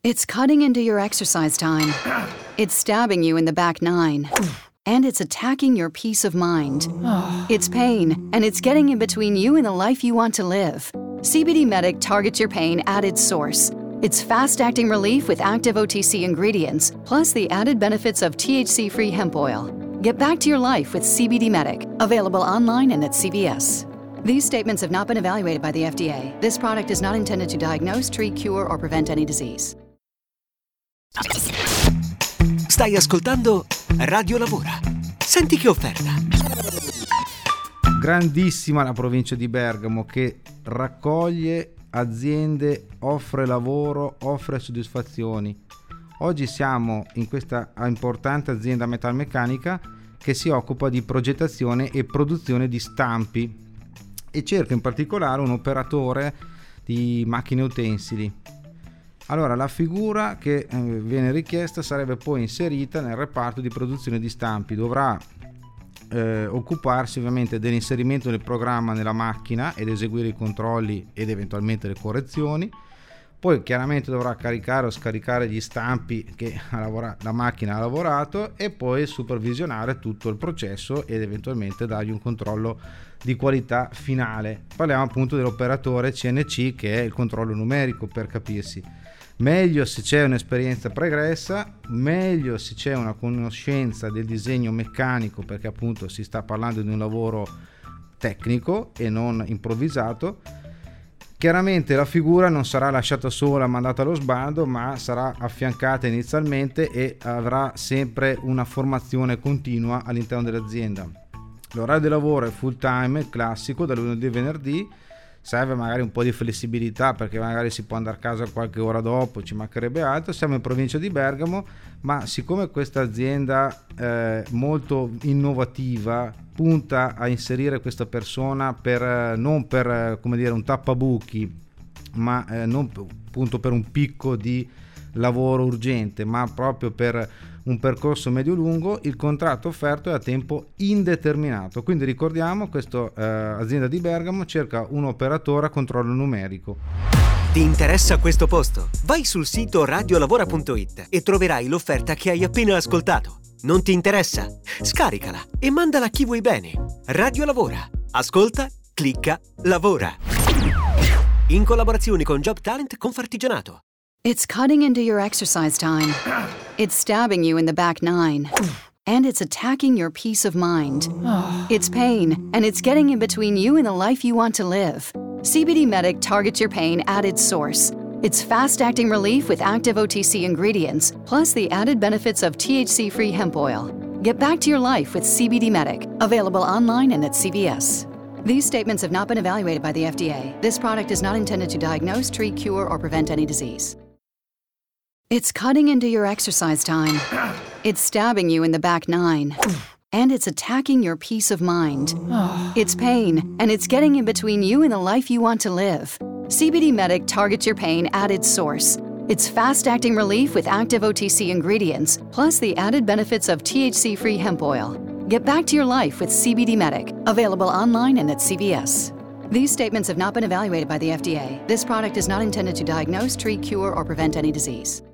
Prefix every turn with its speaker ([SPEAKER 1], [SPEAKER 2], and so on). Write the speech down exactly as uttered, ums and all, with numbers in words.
[SPEAKER 1] It's cutting into your exercise time. It's stabbing you in the back nine. And it's attacking your peace of mind. It's pain, and it's getting in between you and the life you want to live. C B D Medic targets your pain at its source. It's fast-acting relief with active O T C ingredients, plus the added benefits of T H C-free hemp oil. Get back to your life with C B D Medic, available online and at C V S. These statements have not been evaluated by the F D A. This product is not intended to diagnose, treat, cure, or prevent any disease.
[SPEAKER 2] Stai ascoltando Radio Lavora. Senti che offerta.
[SPEAKER 3] Grandissima la provincia di Bergamo, che raccoglie aziende, offre lavoro, offre soddisfazioni. Oggi siamo in questa importante azienda metalmeccanica che si occupa di progettazione e produzione di stampi e cerca in particolare un operatore di macchine utensili. Allora, la figura che eh, viene richiesta sarebbe poi inserita nel reparto di produzione di stampi. Dovrà eh, occuparsi ovviamente dell'inserimento del programma nella macchina ed eseguire i controlli ed eventualmente le correzioni. Poi chiaramente dovrà caricare o scaricare gli stampi che lavora- la macchina ha lavorato e poi supervisionare tutto il processo ed eventualmente dargli un controllo di qualità finale. Parliamo appunto dell'operatore C N C, che è il controllo numerico, per capirsi. Meglio se c'è un'esperienza pregressa, meglio se c'è una conoscenza del disegno meccanico, perché appunto si sta parlando di un lavoro tecnico e non improvvisato. Chiaramente la figura non sarà lasciata sola, mandata allo sbando, ma sarà affiancata inizialmente e avrà sempre una formazione continua all'interno dell'azienda. L'orario di lavoro è full time, classico, da lunedì a venerdì. Serve magari un po' di flessibilità, perché magari si può andare a casa qualche ora dopo, ci mancherebbe altro. Siamo in provincia di Bergamo, ma siccome questa azienda è molto innovativa, punta a inserire questa persona per non per come dire un tappabuchi, ma eh, non appunto per un picco di lavoro urgente, ma proprio per un percorso medio-lungo. Il contratto offerto è a tempo indeterminato, quindi ricordiamo, questa eh, azienda di Bergamo cerca un operatore a controllo numerico.
[SPEAKER 2] Ti interessa questo posto? Vai sul sito radiolavora punto it e troverai l'offerta che hai appena ascoltato. Non ti interessa? Scaricala e mandala a chi vuoi bene. Radio Lavora. Ascolta, clicca, lavora. In collaborazione con Job Talent Confartigianato.
[SPEAKER 1] It's cutting into your exercise time. It's stabbing you in the back nine. And it's attacking your peace of mind. It's pain, and it's getting in between you and the life you want to live. C B D Medic targets your pain at its source. It's fast-acting relief with active O T C ingredients, plus the added benefits of T H C-free hemp oil. Get back to your life with C B D Medic, available online and at C V S. These statements have not been evaluated by the F D A. This product is not intended to diagnose, treat, cure, or prevent any disease. It's cutting into your exercise time. It's stabbing you in the back nine. And it's attacking your peace of mind. It's pain, and it's getting in between you and the life you want to live. C B D Medic targets your pain at its source. It's fast-acting relief with active O T C ingredients, plus the added benefits of T H C-free hemp oil. Get back to your life with C B D Medic, available online and at C V S. These statements have not been evaluated by the F D A. This product is not intended to diagnose, treat, cure, or prevent any disease.